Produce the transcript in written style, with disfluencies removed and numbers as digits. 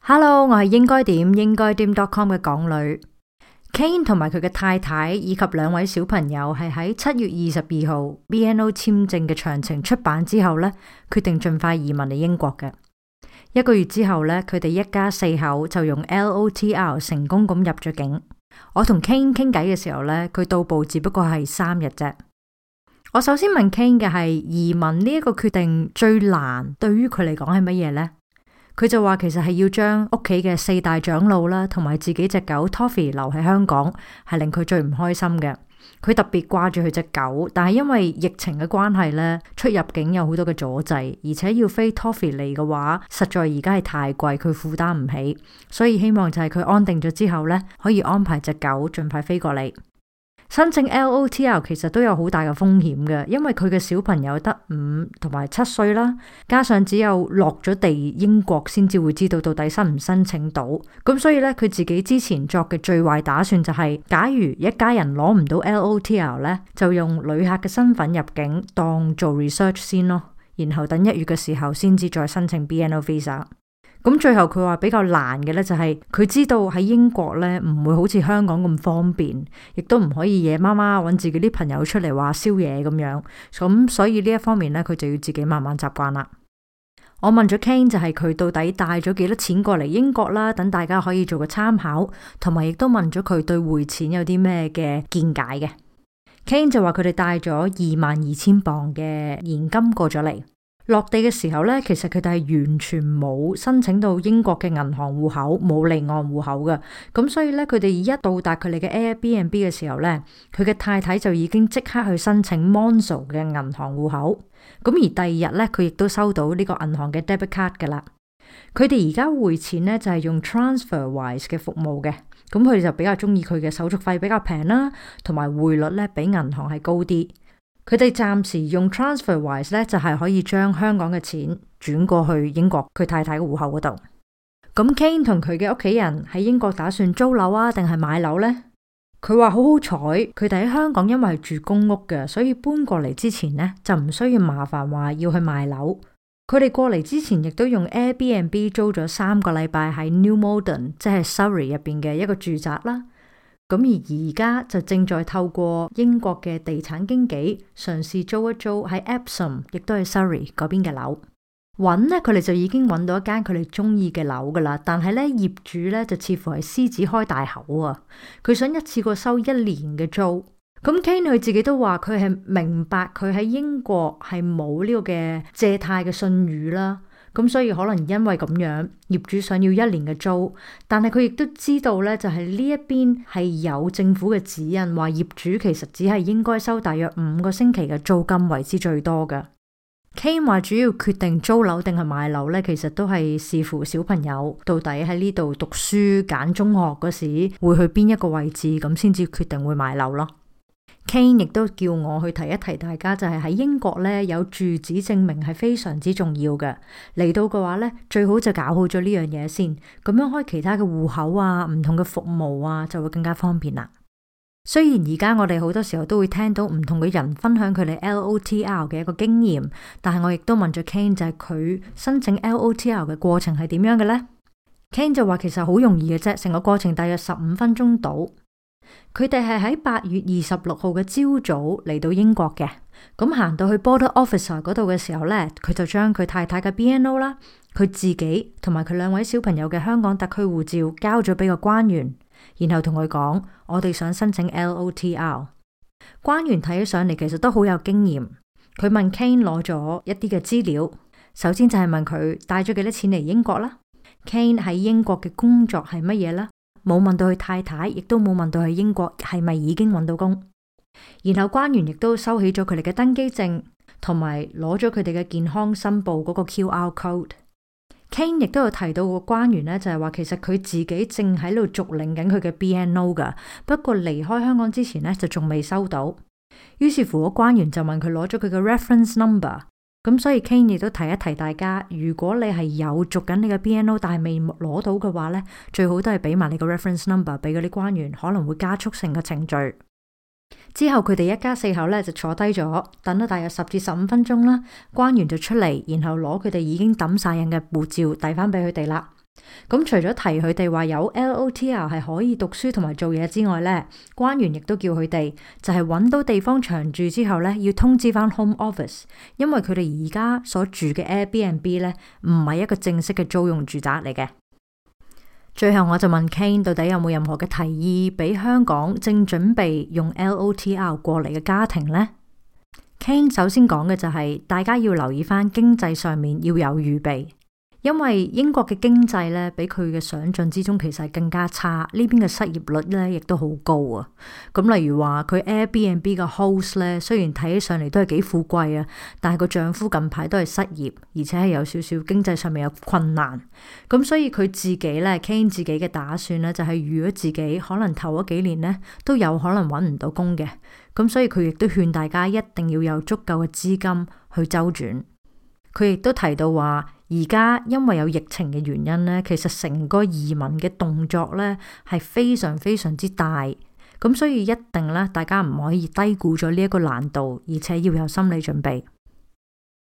Hello，我係應該點 .com 嘅港女 Kane 同埋佢嘅太太以及兩位小朋友係喺7月22號 BNO 簽證嘅詳情出版之後呢，決定盡快移民嚟英國嘅。1個月之後呢，佢哋一家4口就用 LOTR 成功咁入咗境。我同 Kane 傾偈嘅時候呢，佢到埗只不過係3日啫。我首先問 Kane 嘅係移民呢一個決定最難對於佢嚟講係乜嘢呢？佢就話其實係要將屋企嘅4大長老啦，同埋自己隻狗 Toffee 留喺香港，係令佢最唔開心嘅。佢特別掛住佢隻狗，但係因為疫情嘅關係呢，出入境有好多嘅阻滯，而且要飛 Toffee 嚟嘅話，實在而家係太貴，佢負擔唔起，所以希望就係佢安定咗之後呢，可以安排隻狗盡快飛過嚟。申請 LOTR 其實都有好大嘅風險嘅，因為佢嘅小朋友得5同埋7歲啦，加上只有落咗地英國先至會知道到底申唔申請到，咁所以咧佢自己之前作嘅最壞打算就係，假如一家人攞唔到 LOTR 咧，就用旅客嘅身份入境當做 research 先咯，然後等1月嘅時候先至再申請 BNO Visa。咁最後佢話比較難嘅咧就係佢知道喺英國咧唔會好似香港咁方便，亦都唔可以夜媽媽揾自己啲朋友出嚟話宵夜咁樣，咁所以呢一方面咧佢就要自己慢慢習慣啦。我問咗 Kane 就係佢到底帶咗幾多錢過嚟英國啦，等大家可以做個參考，同埋亦都問咗佢對匯錢有啲咩嘅見解嘅。Kane 就話佢哋帶咗22,000磅嘅現金過咗嚟。落地嘅時候呢，其實佢哋係完全冇申請到英國嘅銀行戶口，冇離岸戶口嘅。咁所以呢，佢哋一到達佢哋嘅 Airbnb 嘅時候呢，佢嘅太太就已經即刻去申請 Monzo 嘅銀行戶口。咁而第二日呢，佢亦都收到呢個銀行嘅 debit card 噶啦。佢哋而家匯錢呢，就係用 TransferWise 嘅服務嘅。咁佢哋就比較中意佢嘅手續費比較平啦，同埋匯率呢比銀行係高啲。佢哋暫時用 TransferWise 咧，就係可以將香港嘅錢轉過去英國佢太太嘅戶口嗰度。咁 Kane 同佢嘅屋企人喺英國打算租樓啊，定係買樓呢？佢話好好彩，佢哋喺香港因為係住公屋嘅，所以搬過嚟之前呢，就唔需要麻煩話要去賣樓。佢哋過嚟之前亦都用 Airbnb 租咗3個禮拜喺 New Malden，即係 Surrey 入邊嘅一個住宅啦。咁而家就正在透過英國嘅地產經紀嘗試租一租喺 Epsom， 亦都係 Surrey 嗰邊嘅樓。揾呢，佢哋就已經揾到一間佢哋中意嘅樓噶啦，但係呢，業主呢就似乎係獅子開大口啊！佢想一次過收1年嘅租。咁 Kane 佢自己都話佢係明白佢喺英國係冇呢個嘅借貸嘅信譽啦。咁所以可能因為咁樣，業主想要1年嘅租，但係佢亦都知道呢，就係呢一邊係有政府嘅指引，話業主其實只係應該收大約5個星期嘅租金為之最多嘅。Kane 話主要決定租樓定係買樓呢，其實都係視乎小朋友到底喺呢度讀書揀中學嗰時會去邊一個位置，咁先至決定會買樓咯。Kane 亦都叫我去提一提大家，就係喺英國呢，有住址證明係非常之重要嘅。嚟到嘅話呢，最好就搞好咗呢樣嘢先，咁樣開其他嘅戶口啊，唔同嘅服務啊，就會更加方便啦。雖然而家我哋好多時候都會聽到唔同嘅人分享佢哋 LOTR 嘅一個經驗，但係我亦都問咗 Kane， 就係佢申請 LOTR 嘅過程係點樣嘅呢？ Kane 就話其實好容易嘅啫，成個過程大約15分鐘到。佢哋係喺8月26號嘅朝早嚟到英國嘅，咁行到去 Border Officer 嗰度嘅時候呢，佢就將佢太太嘅 BNO 啦，佢自己同埋佢2位小朋友嘅香港特區護照交咗俾個官員，然後同佢講我哋想申請 LOTR。官員睇起上嚟其實都好有經驗，佢問 Kane 攞咗一啲嘅資料，首先就係問佢帶咗幾多錢嚟英國啦， Kane 喺英國嘅工作係乜嘢啦，冇問到佢太太，亦都冇問到佢英國係咪已經揾到工。然後官員亦都收起咗佢哋嘅登機證，同埋攞咗佢哋嘅健康申報嗰個 QR code。Kane 亦都有提到個官員呢，就係話其實佢自己正喺度續領緊佢嘅 BNO 噶，不過離開香港之前呢，就仲未收到。於是乎個官員就問佢攞咗佢嘅 reference number。咁所以 Kane 亦都提一提大家，如果你係有續緊你嘅 BNO 但係未攞到嘅話呢，最好都係俾埋你個 reference number 俾嗰啲官員，可能會加速成個程序。之後佢哋一家4口呢就坐低咗，等咗大約10至15分鐘啦，官員就出嚟，然後攞佢哋已經抌晒印嘅護照遞翻俾佢哋啦。 咁除咗提佢哋話有 LOTR 係可以讀書同埋做嘢之外呢，官員亦都叫佢哋就係揾到地方長住之後呢，要通知翻 Home Office，因為佢哋而家所住嘅 Airbnb 呢，唔係一個正式嘅租用住宅嚟嘅。最後我就問 Kane 到底有冇任何嘅提議俾香港正準備用 LOTR 過嚟嘅家庭呢？ Kane 首先講嘅就係大家要留意翻經濟上面要有預備。因為英國嘅經濟咧，比佢嘅想象之中其實係更加差，呢邊嘅失業率咧亦都好高啊。咁例如話佢 Airbnb 嘅 host 咧，雖然睇起上嚟都係幾富貴啊，但係個丈夫近排都係失業，而且係有少少經濟上面有困難。咁所以佢自己咧 Kane 自己嘅打算咧，就係預咗自己可能頭嗰幾年咧都有可能揾唔到工嘅。咁所以佢亦都勸大家一定要有足夠嘅資金去周轉。佢亦都提到話，而家因為有疫情嘅原因咧，其實成個移民嘅動作咧係非常非常之大，咁所以一定咧大家唔可以低估咗呢一個難度，而且要有心理準備。